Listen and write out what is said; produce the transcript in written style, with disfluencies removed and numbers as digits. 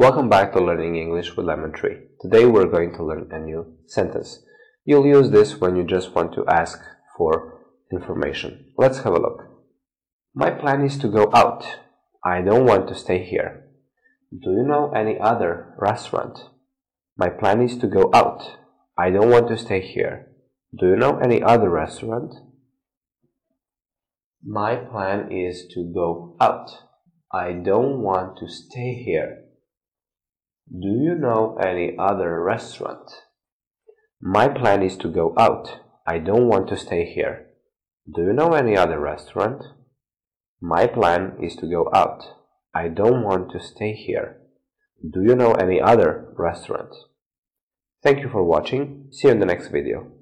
Welcome back to Learning English with Lemon Tree. Today we're going to learn a new sentence. You'll use this when you just want to ask for information. Let's have a look. My plan is to go out. I don't want to stay here. Do you know any other restaurant? My plan is to go out. I don't want to stay here. Do you know any other restaurant? My plan is to go out. I don't want to stay here. Do you know any other restaurant? My plan is to go out. I don't want to stay here. Do you know any other restaurant? My plan is to go out. I don't want to stay here. Do you know any other restaurant? Thank you for watching. See you in the next video.